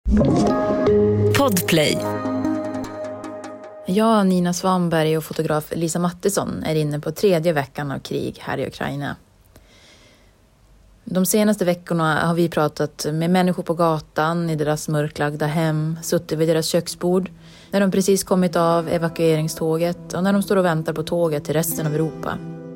Podplay. Jag, Nina Svanberg och fotograf Lisa Mattisson är inne på 3:e veckan av krig här i Ukraina. De senaste veckorna har vi pratat med människor på gatan, i deras mörklagda hem, suttit vid deras köksbord, när de precis kommit av evakueringståget och när de står och väntar på tåget till resten av Europa.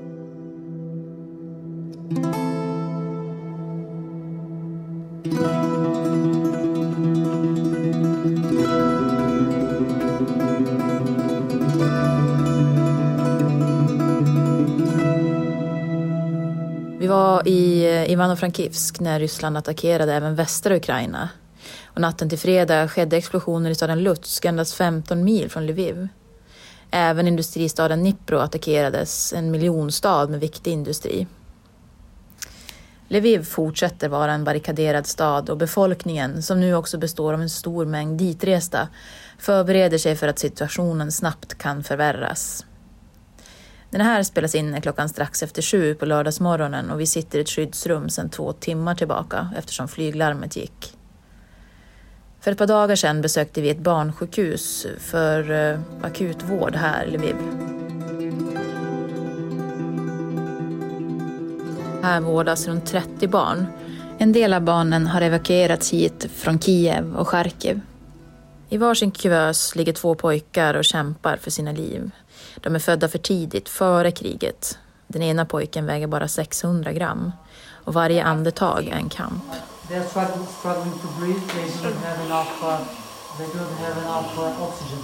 Vi var i Ivano-Frankivsk när Ryssland attackerade även västra Ukraina. Och natten till fredag skedde explosioner i staden Lutsk, endast 15 mil från Lviv. Även industristaden Dnipro attackerades, en miljonstad med viktig industri. Lviv fortsätter vara en barrikaderad stad och befolkningen, som nu också består av en stor mängd ditresta, förbereder sig för att situationen snabbt kan förvärras. Den här spelas in klockan strax efter 7 på lördagsmorgonen och vi sitter i ett skyddsrum sedan 2 timmar tillbaka eftersom flyglarmet gick. För ett par dagar sedan besökte vi ett barnsjukhus för akutvård här i Lviv. Här vårdas runt 30 barn. En del av barnen har evakuerats hit från Kiev och Charkiv. I varsin kuvös ligger 2 pojkar och kämpar för sina liv. De är födda för tidigt, före kriget. Den ena pojken väger bara 600 gram. Och varje andetag är en kamp. They are struggling to breathe. They don't have enough oxygen.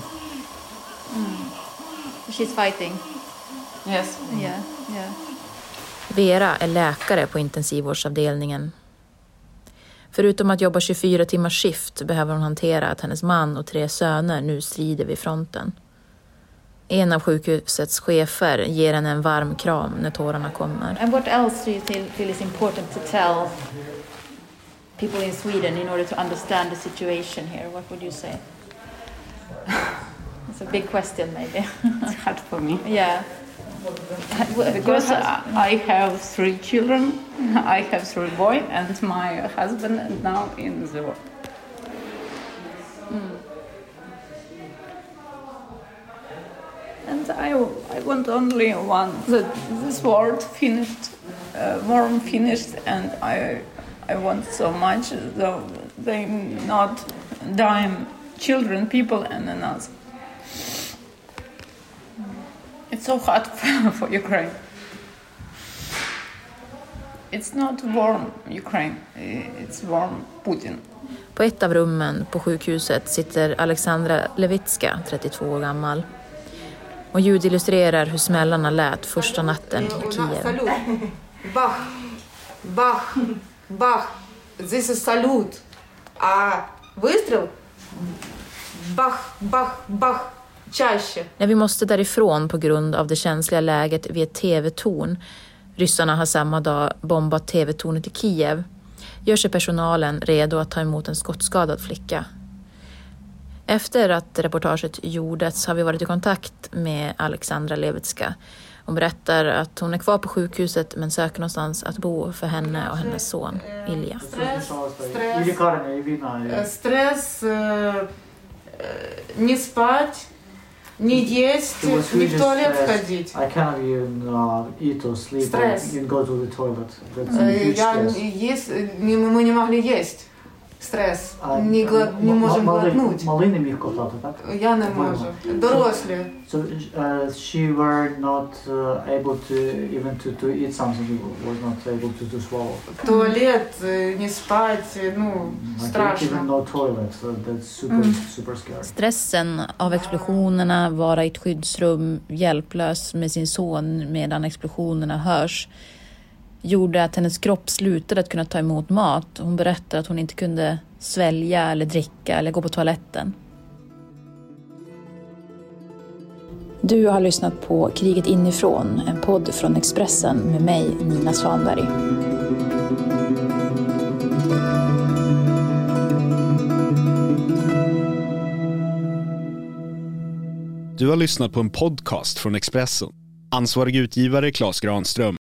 She's fighting. Yes. Yeah. Vera är läkare på intensivvårdsavdelningen. Förutom att jobba 24 timmars skift behöver hon hantera att hennes man och 3 söner nu strider vid fronten. En av sjukhusets chefer ger henne en varm kram när tårarna kommer. And what else do you feel is important to tell people in Sweden in order to understand the situation here? What would you say? It's a big question maybe. It's hard for me. Yeah. Because I have 3 children. I have 3 boys and my husband now in the war. And I want only one, that this world finished, warm finished, and I want so much that they not dying children, people, and us. It's so hard for Ukraine. It's not warm Ukraine, it's warm Putin. På ett av rummen på sjukhuset sitter Alexandra Levitska, 32 år gammal. Och ljud illustrerar hur smällarna lät första natten i Kiev. Salut. Bach, bach, bach. This is salut. Выстрел. Bach, bach, bach. Чаще. När vi måste därifrån på grund av det känsliga läget vid ett tv-torn, ryssarna har samma dag bombat tv-tornet i Kiev, gör sig personalen redo att ta emot en skottskadad flicka. Efter att reportaget gjordes har vi varit i kontakt med Alexandra Levitska. Hon berättar att hon är kvar på sjukhuset men söker någonstans att bo för henne och hennes son, Ilja. Стресс, не спать, не есть, не в туалет ходить. I cannot even eat or sleep Stress. or even go to the toilet. That's a huge stress. Мы не могли есть. Стрес. Не можем глотнуть. Малий не міг ковтати, так? Я не можу. Дорослі. So she were not able to even to eat something. Was not able to swallow. Туалет, не спать, ну, страшно. Even no toilet. So that's super scary. Stressen av explosionerna, vara i ett skyddsrum, hjälplös med sin son medan explosionerna hörs, gjorde att hennes kropp slutade att kunna ta emot mat. Hon berättade att hon inte kunde svälja eller dricka eller gå på toaletten. Du har lyssnat på Kriget inifrån, en podd från Expressen med mig, Nina Svanberg. Du har lyssnat på en podcast från Expressen. Ansvarig utgivare Claes Granström.